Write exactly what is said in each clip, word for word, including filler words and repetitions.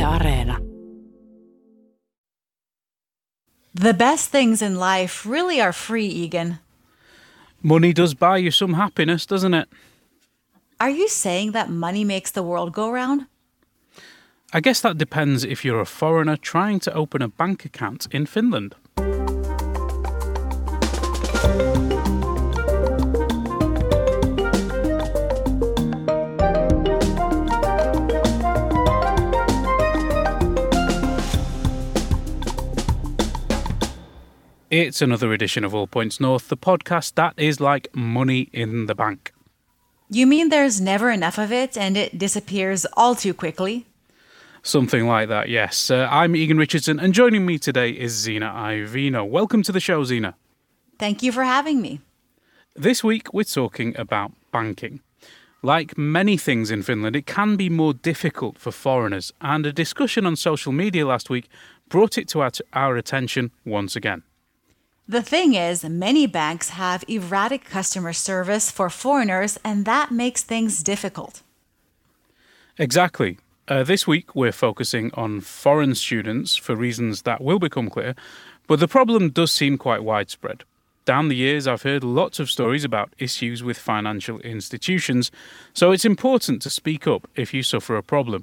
Areena. The best things in life really are free, Egan. Money does buy you some happiness, doesn't it? Are you saying that money makes the world go round? I guess that depends if you're a foreigner trying to open a bank account in Finland. It's another edition of All Points North, the podcast that is like money in the bank. You mean there's never enough of it and it disappears all too quickly? Something like that, yes. Uh, I'm Egan Richardson, and joining me today is Zina Iovino. Welcome to the show, Zina. Thank you for having me. This week we're talking about banking. Like many things in Finland, it can be more difficult for foreigners, and a discussion on social media last week brought it to our, our attention once again. The thing is, many banks have erratic customer service for foreigners, and that makes things difficult. Exactly. Uh, this week we're focusing on foreign students for reasons that will become clear, but the problem does seem quite widespread. Down the years, I've heard lots of stories about issues with financial institutions, so it's important to speak up if you suffer a problem.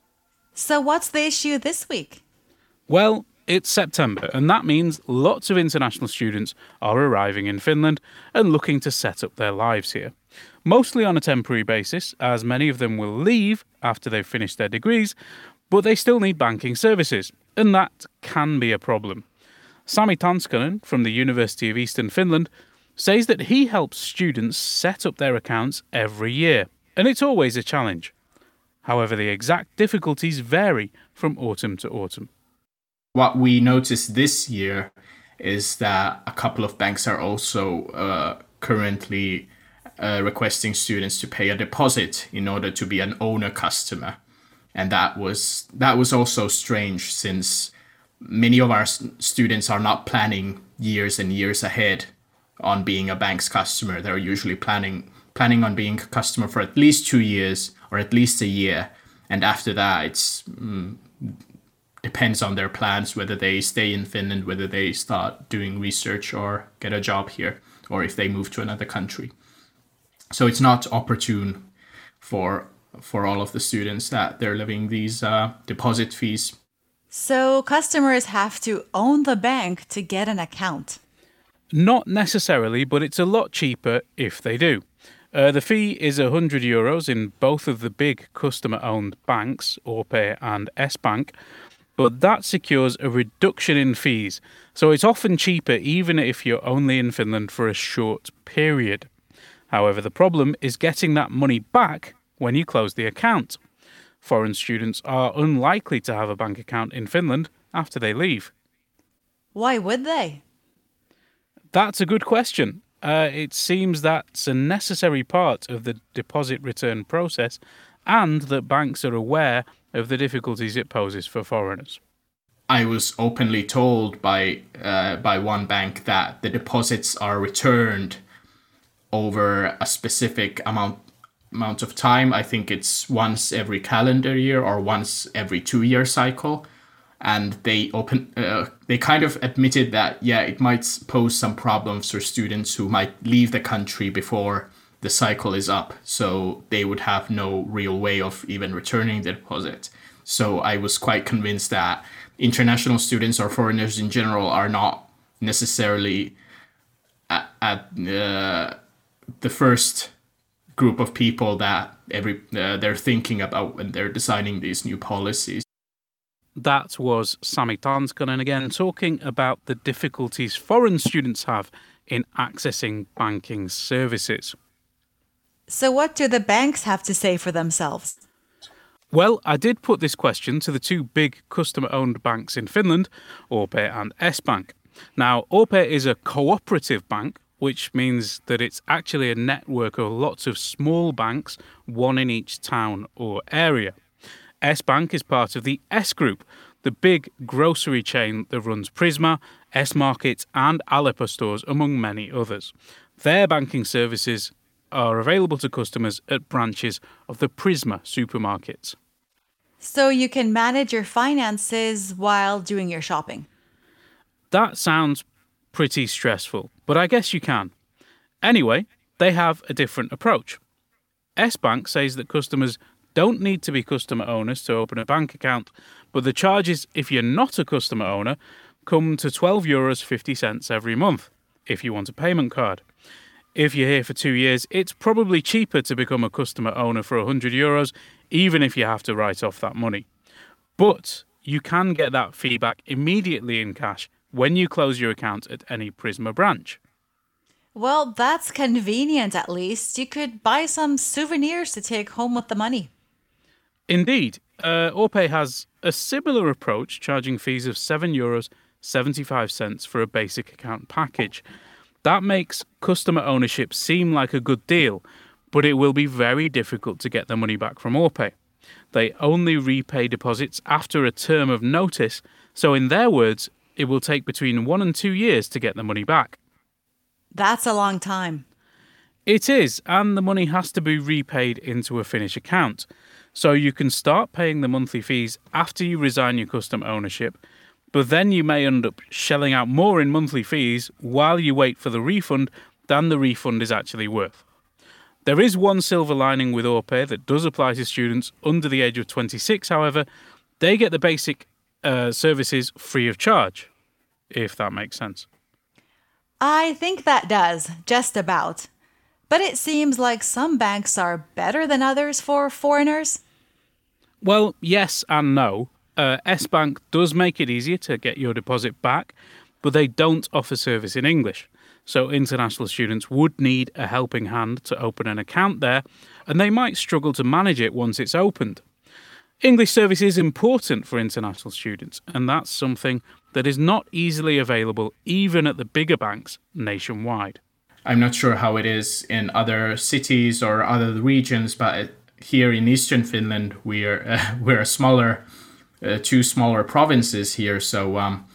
So what's the issue this week? Well, it's September, and that means lots of international students are arriving in Finland and looking to set up their lives here. Mostly on a temporary basis, as many of them will leave after they've finished their degrees, but they still need banking services, and that can be a problem. Sami Tanskanen from the University of Eastern Finland says that he helps students set up their accounts every year, and it's always a challenge. However, the exact difficulties vary from autumn to autumn. What we noticed this year is that a couple of banks are also uh, currently uh, requesting students to pay a deposit in order to be an owner customer. And that was that was also strange, since many of our students are not planning years and years ahead on being a bank's customer. They're usually planning planning on being a customer for at least two years or at least a year. And after that, it's mm, depends on their plans, whether they stay in Finland, whether they start doing research or get a job here, or if they move to another country. So it's not opportune for for all of the students that they're levying these uh, deposit fees. So customers have to own the bank to get an account? Not necessarily, but it's a lot cheaper if they do. Uh, the fee is one hundred euros in both of the big customer-owned banks, O P and S-Bank, but that secures a reduction in fees, so it's often cheaper even if you're only in Finland for a short period. However, the problem is getting that money back when you close the account. Foreign students are unlikely to have a bank account in Finland after they leave. Why would they? That's a good question. Uh, it seems that's a necessary part of the deposit return process, and that banks are aware of the difficulties it poses for foreigners. I was openly told by uh, by one bank that the deposits are returned over a specific amount amount of time. I think it's once every calendar year or once every two-year cycle. And they open uh, they kind of admitted that, yeah, it might pose some problems for students who might leave the country before the cycle is up. So they would have no real way of even returning the deposit. So I was quite convinced that international students or foreigners in general are not necessarily at, at uh, the first group of people that every uh, they're thinking about when they're designing these new policies. That was Sami Tanskanen again, talking about the difficulties foreign students have in accessing banking services. So what do the banks have to say for themselves? Well, I did put this question to the two big customer-owned banks in Finland, O P and S-Bank. Now, O P is a cooperative bank, which means that it's actually a network of lots of small banks, one in each town or area. S-Bank is part of the S-Group, the big grocery chain that runs Prisma, S-Markets and Aleppo stores, among many others. Their banking services are available to customers at branches of the Prisma supermarkets. So you can manage your finances while doing your shopping. That sounds pretty stressful, but I guess you can. Anyway, they have a different approach. S-Bank says that customers don't need to be customer owners to open a bank account, but the charges if you're not a customer owner come to twelve euros fifty every month if you want a payment card. If you're here for two years, it's probably cheaper to become a customer owner for one hundred euros, even if you have to write off that money. But you can get that fee back immediately in cash when you close your account at any Prisma branch. Well, that's convenient at least. You could buy some souvenirs to take home with the money. Indeed, uh, Orpay has a similar approach, charging fees of seven euros seventy-five for a basic account package. That makes customer ownership seem like a good deal, but it will be very difficult to get the money back from Orpay. They only repay deposits after a term of notice, so in their words, it will take between one and two years to get the money back. That's a long time. It is, and the money has to be repaid into a Finnish account. So you can start paying the monthly fees after you resign your customer ownership, but then you may end up shelling out more in monthly fees while you wait for the refund than the refund is actually worth. There is one silver lining with Orpay that does apply to students under the age of twenty-six, however. They get the basic uh, services free of charge, if that makes sense. I think that does, just about. But it seems like some banks are better than others for foreigners. Well, yes and no. Uh, S-Bank does make it easier to get your deposit back, but they don't offer service in English. So international students would need a helping hand to open an account there, and they might struggle to manage it once it's opened. English service is important for international students, and that's something that is not easily available even at the bigger banks nationwide. I'm not sure how it is in other cities or other regions, but here in Eastern Finland, we're uh, we're a smaller, uh, two smaller provinces here. So um,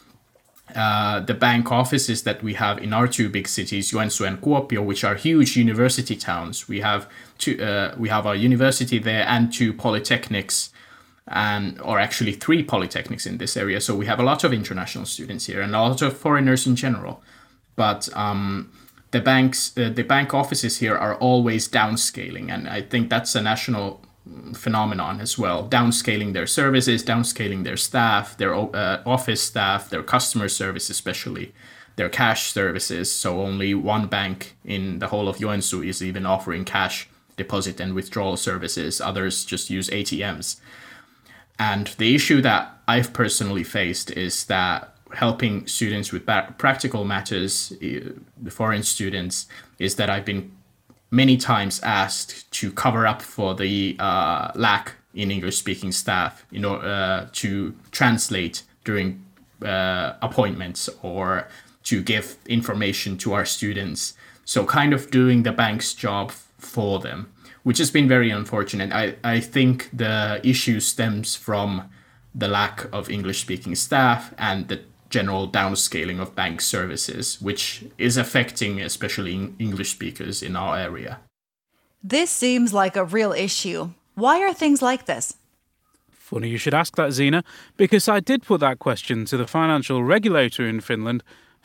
uh, the bank offices that we have in our two big cities, Joensuu and Kuopio, which are huge university towns, we have two, uh, we have a university there and two polytechnics, and or actually three polytechnics in this area. So we have a lot of international students here and a lot of foreigners in general, but. Um, The banks, uh, the bank offices here are always downscaling, and I think that's a national phenomenon as well. Downscaling their services, downscaling their staff, their uh, office staff, their customer service especially, their cash services. So only one bank in the whole of Joensuu is even offering cash deposit and withdrawal services. Others just use A T Ms. And the issue that I've personally faced is that helping students with practical matters, the foreign students, is that I've been many times asked to cover up for the uh, lack in English-speaking staff, you know, uh, to translate during uh, appointments or to give information to our students. So kind of doing the bank's job for them, which has been very unfortunate. I, I think the issue stems from the lack of English-speaking staff and the general downscaling of bank services, which is affecting especially English speakers in our area. This seems like a real issue. Why are things like this? Funny you should ask that, Zena, because I did put that question to the financial regulator in Finland,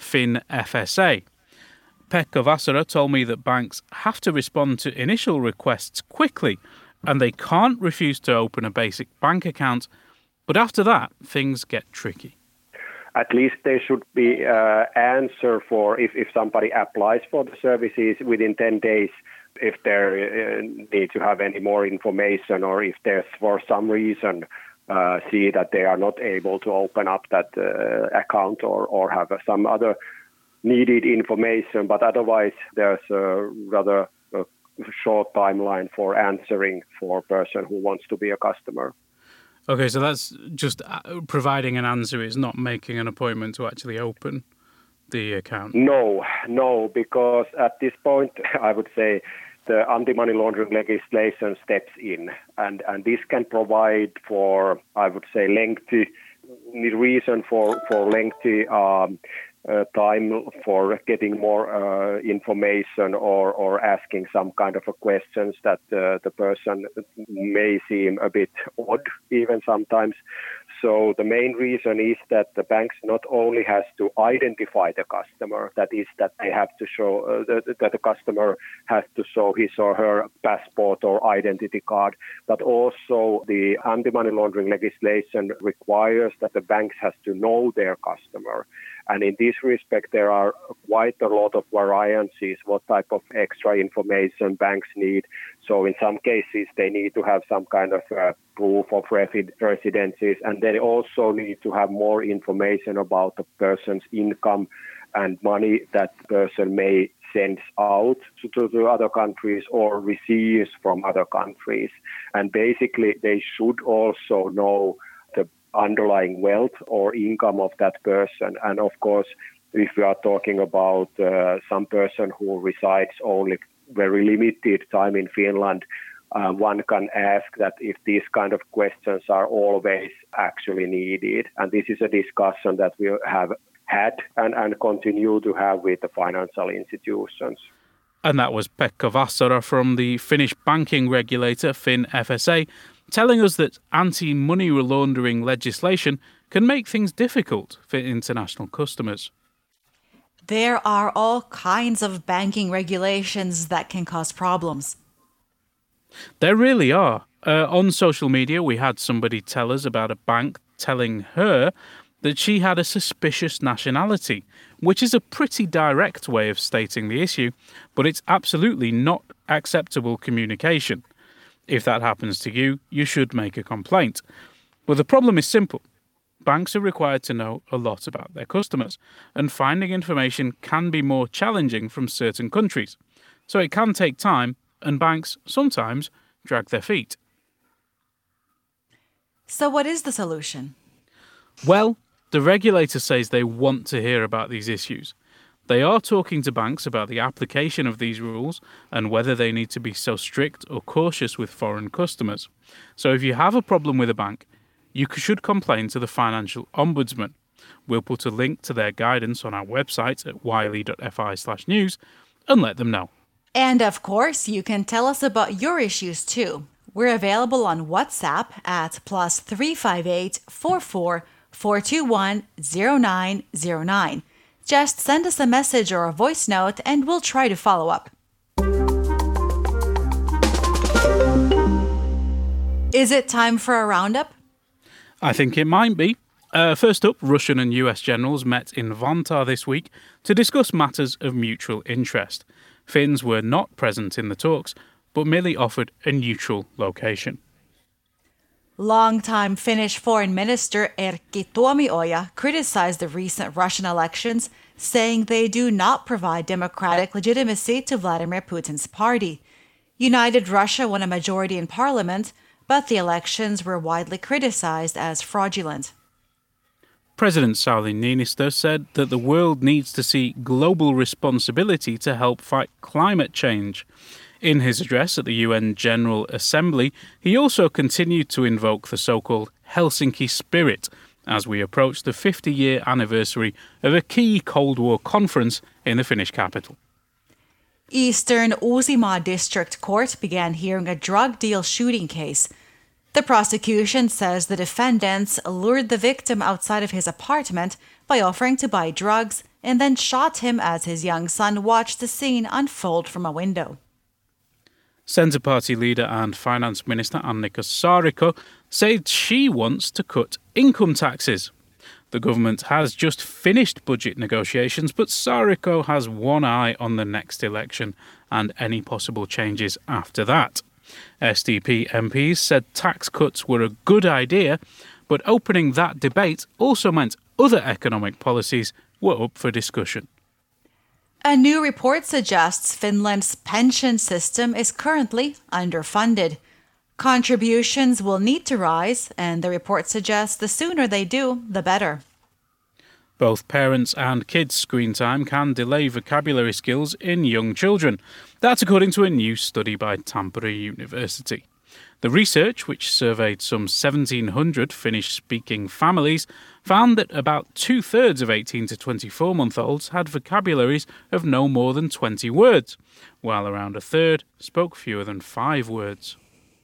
FinFSA. Pekka Vasara told me that banks have to respond to initial requests quickly, and they can't refuse to open a basic bank account, but after that, things get tricky. At least there should be an uh, answer for if, if somebody applies for the services within ten days, if they uh, need to have any more information, or if there's for some reason uh, see that they are not able to open up that uh, account or, or have some other needed information. But otherwise, there's a rather a short timeline for answering for a person who wants to be a customer. Okay, so that's just providing an answer. It's not making an appointment to actually open the account. No, no, because at this point, I would say the anti-money laundering legislation steps in, and, and this can provide for, I would say, lengthy reason for, for lengthy um, uh, time for getting more uh, information or, or asking some kind of a questions that uh, the person may seem a bit odd even sometimes. So the main reason is that the banks not only has to identify the customer, that is that they have to show uh, that, that the customer has to show his or her passport or identity card, but also the anti-money laundering legislation requires that the banks has to know their customer. And in this respect, there are quite a lot of variances, what type of extra information banks need. So in some cases, they need to have some kind of uh, proof of resi- residencies, and they also need to have more information about the person's income and money that person may send out to, to, to other countries or receives from other countries. And basically, they should also know the underlying wealth or income of that person. And of course, if we are talking about uh, some person who resides only very limited time in Finland, uh, one can ask that if these kind of questions are always actually needed. And this is a discussion that we have had and, and continue to have with the financial institutions. And that was Pekka Vassara from the Finnish banking regulator FinFSA, telling us that anti-money laundering legislation can make things difficult for international customers. There are all kinds of banking regulations that can cause problems. There really are. Uh, on social media, we had somebody tell us about a bank telling her that she had a suspicious nationality, which is a pretty direct way of stating the issue, but it's absolutely not acceptable communication. If that happens to you, you should make a complaint. But the problem is simple. Banks are required to know a lot about their customers, and finding information can be more challenging from certain countries. So it can take time, and banks sometimes drag their feet. So what is the solution? Well, the regulator says they want to hear about these issues. They are talking to banks about the application of these rules and whether they need to be so strict or cautious with foreign customers. So if you have a problem with a bank, you should complain to the Financial Ombudsman. We'll put a link to their guidance on our website at yle.fi slash news and let them know. And of course, you can tell us about your issues too. We're available on WhatsApp at plus three five eight, four four, four two one, zero nine zero nine. Just send us a message or a voice note and we'll try to follow up. Is it time for a roundup? I think it might be. Uh, first up, Russian and U S generals met in Vantaa this week to discuss matters of mutual interest. Finns were not present in the talks, but merely offered a neutral location. Longtime Finnish Foreign Minister Erkki Tuomioja criticized the recent Russian elections, saying they do not provide democratic legitimacy to Vladimir Putin's party. United Russia won a majority in parliament, but the elections were widely criticized as fraudulent. President Sauli Niinistö said that the world needs to see global responsibility to help fight climate change. In his address at the U N General Assembly, he also continued to invoke the so-called Helsinki spirit as we approach the fifty-year anniversary of a key Cold War conference in the Finnish capital. Eastern Uusimaa District Court began hearing a drug deal shooting case. The prosecution says the defendants lured the victim outside of his apartment by offering to buy drugs and then shot him as his young son watched the scene unfold from a window. Centre Party leader and Finance Minister Annika Saarikko said she wants to cut income taxes. The government has just finished budget negotiations, but Saarikko has one eye on the next election and any possible changes after that. S D P M Ps said tax cuts were a good idea, but opening that debate also meant other economic policies were up for discussion. A new report suggests Finland's pension system is currently underfunded. Contributions will need to rise, and the report suggests the sooner they do, the better. Both parents and kids' screen time can delay vocabulary skills in young children. That's according to a new study by Tampere University. The research, which surveyed some seventeen hundred Finnish-speaking families, found that about two-thirds of eighteen to twenty-four-month-olds had vocabularies of no more than twenty words, while around a third spoke fewer than five words.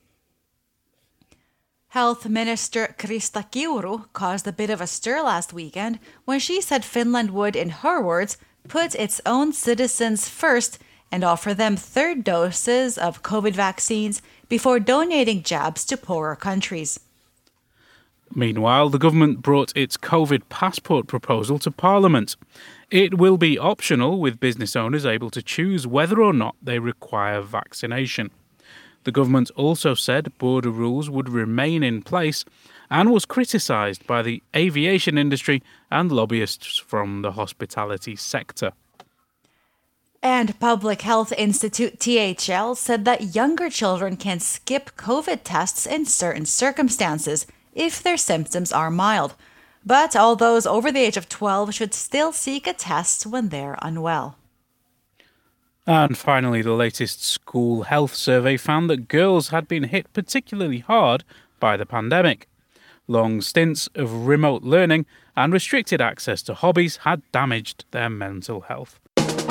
Health Minister Krista Kiuru caused a bit of a stir last weekend when she said Finland would, in her words, put its own citizens first and offer them third doses of COVID vaccines before donating jabs to poorer countries. Meanwhile, the government brought its COVID passport proposal to Parliament. It will be optional, with business owners able to choose whether or not they require vaccination. The government also said border rules would remain in place and was criticised by the aviation industry and lobbyists from the hospitality sector. And Public Health Institute T H L said that younger children can skip COVID tests in certain circumstances if their symptoms are mild. But all those over the age of twelve should still seek a test when they're unwell. And finally, the latest school health survey found that girls had been hit particularly hard by the pandemic. Long stints of remote learning and restricted access to hobbies had damaged their mental health.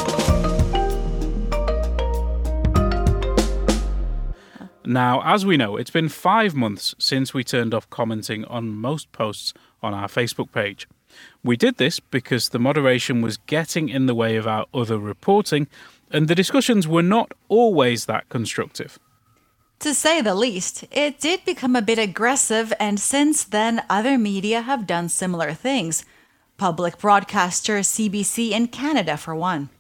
Now, as we know, it's been five months since we turned off commenting on most posts on our Facebook page. We did this because the moderation was getting in the way of our other reporting, and the discussions were not always that constructive. To say the least, it did become a bit aggressive, and since then other media have done similar things. Public broadcaster C B C in Canada, for one.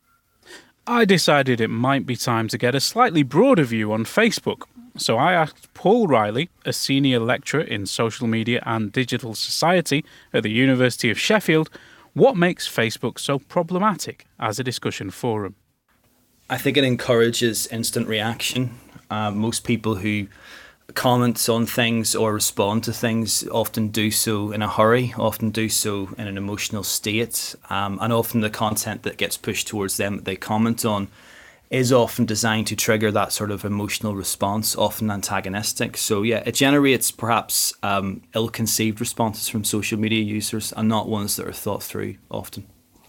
I decided it might be time to get a slightly broader view on Facebook, so I asked Paul Riley, a senior lecturer in social media and digital society at the University of Sheffield, what makes Facebook so problematic as a discussion forum. I think it encourages instant reaction. Uh, most people who comment on things or respond to things often do so in a hurry, often do so in an emotional state, um, and often the content that gets pushed towards them that they comment on is often designed to trigger that sort of emotional response, often antagonistic. So yeah, it generates perhaps um, ill-conceived responses from social media users and not ones that are thought through often.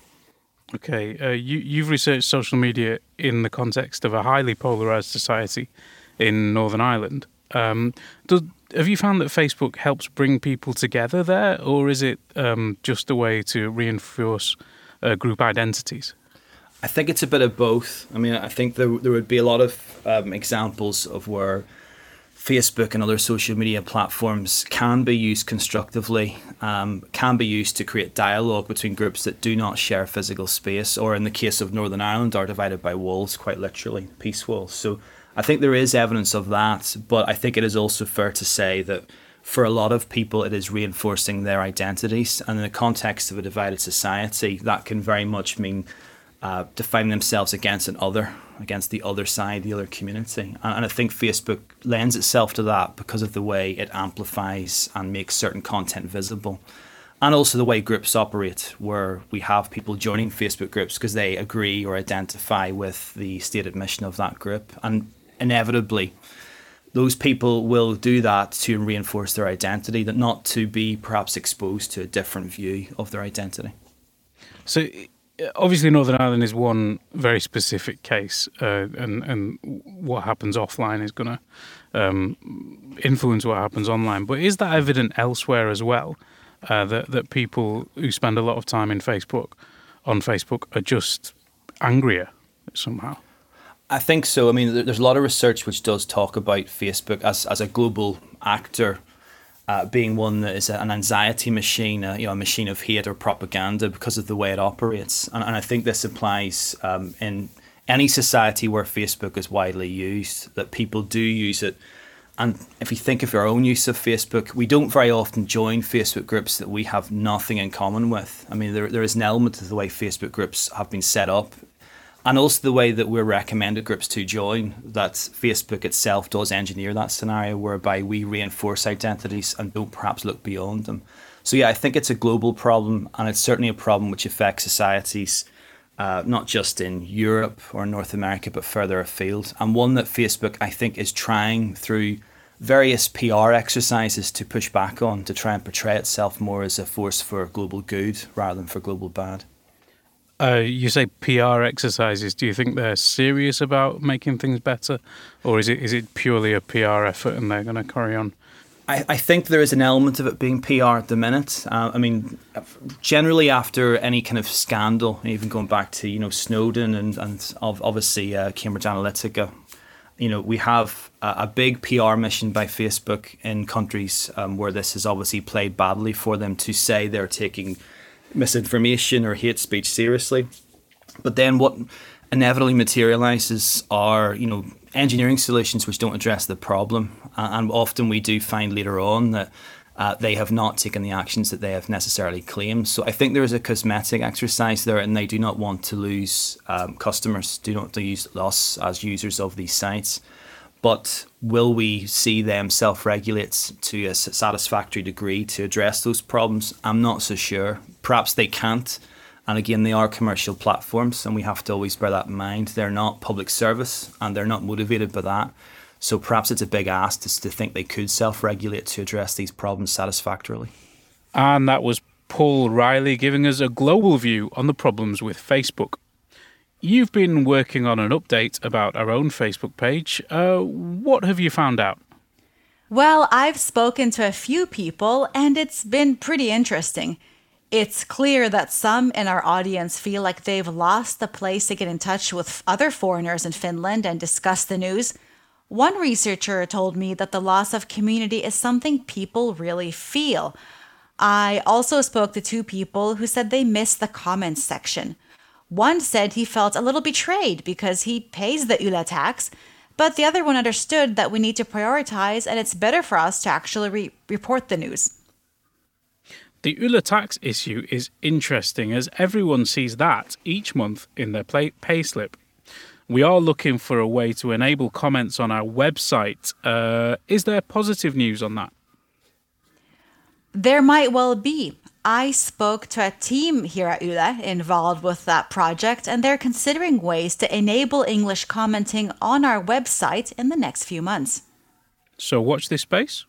Okay, uh, you, you've researched social media in the context of a highly polarised society in Northern Ireland. Um, does, have you found that Facebook helps bring people together there, or is it um, just a way to reinforce uh, group identities? I think it's a bit of both. I mean, I think there there would be a lot of um, examples of where Facebook and other social media platforms can be used constructively, um, can be used to create dialogue between groups that do not share physical space, or in the case of Northern Ireland, are divided by walls, quite literally, peace walls. So I think there is evidence of that, but I think it is also fair to say that for a lot of people, it is reinforcing their identities. And in the context of a divided society, that can very much mean uh, defining themselves against an other, against the other side, the other community. And, and I think Facebook lends itself to that because of the way it amplifies and makes certain content visible. And also the way groups operate, where we have people joining Facebook groups because they agree or identify with the stated mission of that group. And inevitably, those people will do that to reinforce their identity, that not to be perhaps exposed to a different view of their identity. So obviously Northern Ireland is one very specific case, uh, and, and what happens offline is going to um, influence what happens online. But is that evident elsewhere as well, uh, that, that people who spend a lot of time in Facebook, on Facebook, are just angrier somehow? I think so. I mean, there's a lot of research which does talk about Facebook as, as a global actor uh, being one that is an anxiety machine, uh, you know, a machine of hate or propaganda because of the way it operates. And, and I think this applies um, in any society where Facebook is widely used, that people do use it. And if you think of our own use of Facebook, we don't very often join Facebook groups that we have nothing in common with. I mean, there there is an element of the way Facebook groups have been set up, and also the way that we're recommended groups to join, that Facebook itself does engineer that scenario whereby we reinforce identities and don't perhaps look beyond them. So yeah, I think it's a global problem, and it's certainly a problem which affects societies, uh, not just in Europe or North America, but further afield. And one that Facebook, I think, is trying through various P R exercises to push back on, to try and portray itself more as a force for global good rather than for global bad. Uh, you say P R exercises. Do you think they're serious about making things better, or is it is it purely a P R effort and they're going to carry on? I, I think there is an element of it being P R at the minute. Uh, I mean, generally after any kind of scandal, even going back to, you know, Snowden and, and obviously uh, Cambridge Analytica, you know, we have a, a big P R mission by Facebook in countries um, where this has obviously played badly for them to say they're taking misinformation or hate speech seriously. But then what inevitably materializes are, you know, engineering solutions which don't address the problem. Uh, and often we do find later on that uh, they have not taken the actions that they have necessarily claimed. So I think there is a cosmetic exercise there, and they do not want to lose um, customers, do not want to use us as users of these sites. But will we see them self-regulate to a satisfactory degree to address those problems? I'm not so sure. Perhaps they can't. And again, they are commercial platforms, and we have to always bear that in mind. They're not public service, and they're not motivated by that. So perhaps it's a big ask to, to think they could self-regulate to address these problems satisfactorily. And that was Paul Riley giving us a global view on the problems with Facebook. You've been working on an update about our own Facebook page. Uh, what have you found out? Well, I've spoken to a few people, and it's been pretty interesting. It's clear that some in our audience feel like they've lost the place to get in touch with other foreigners in Finland and discuss the news. One researcher told me that the loss of community is something people really feel. I also spoke to two people who said they missed the comments section. One said he felt a little betrayed because he pays the Yle tax, but the other one understood that we need to prioritize and it's better for us to actually re- report the news. The Yle tax issue is interesting as everyone sees that each month in their pay- payslip. We are looking for a way to enable comments on our website. Uh, is there positive news on that? There might well be. I spoke to a team here at Yle involved with that project, and they're considering ways to enable English commenting on our website in the next few months. So watch this space?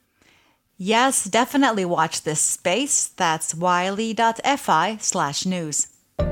Yes, definitely watch this space. That's yle.fi slash news.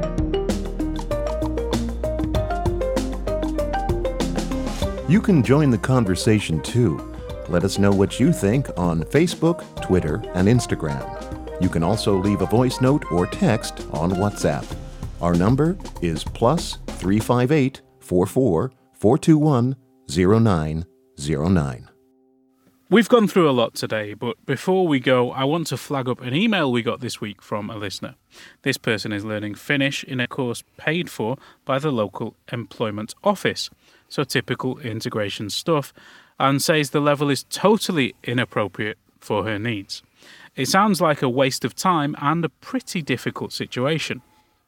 You can join the conversation too. Let us know what you think on Facebook, Twitter, and Instagram. You can also leave a voice note or text on WhatsApp. Our number is plus three five eight, four four, four two one, zero nine zero nine. We've gone through a lot today, but before we go, I want to flag up an email we got this week from a listener. This person is learning Finnish in a course paid for by the local employment office. So typical integration stuff, and says the level is totally inappropriate for her needs. It sounds like a waste of time and a pretty difficult situation.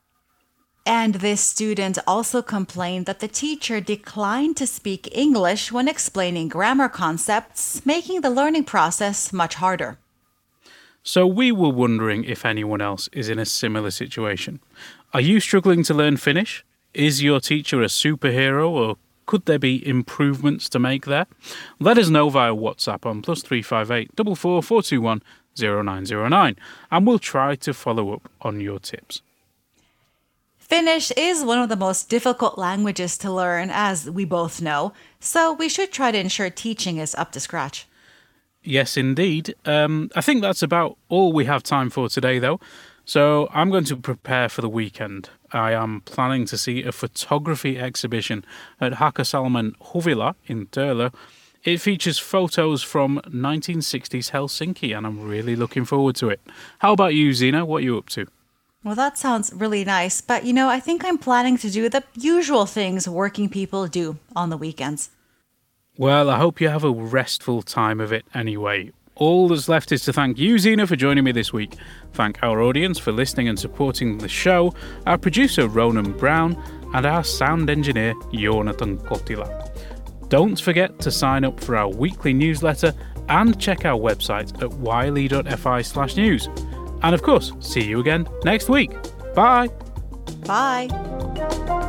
And this student also complained that the teacher declined to speak English when explaining grammar concepts, making the learning process much harder. So we were wondering if anyone else is in a similar situation. Are you struggling to learn Finnish? Is your teacher a superhero, or could there be improvements to make there? Let us know via WhatsApp on plus three five eight, four four, four two one, zero nine zero nine, and we'll try to follow up on your tips. Finnish is one of the most difficult languages to learn, as we both know, so we should try to ensure teaching is up to scratch. Yes, indeed. Um, I think that's about all we have time for today, though. So I'm going to prepare for the weekend. I am planning to see a photography exhibition at Hakasalmen Huvila in Turlo. It features photos from nineteen sixties Helsinki, and I'm really looking forward to it. How about you, Zena? What are you up to? Well, that sounds really nice, but you know, I think I'm planning to do the usual things working people do on the weekends. Well, I hope you have a restful time of it anyway. All that's left is to thank you, Zena, for joining me this week. Thank our audience for listening and supporting the show, our producer, Ronan Brown, and our sound engineer, Jonathan Kotila. Don't forget to sign up for our weekly newsletter and check our website at yle.fi slash news. And of course, see you again next week. Bye. Bye.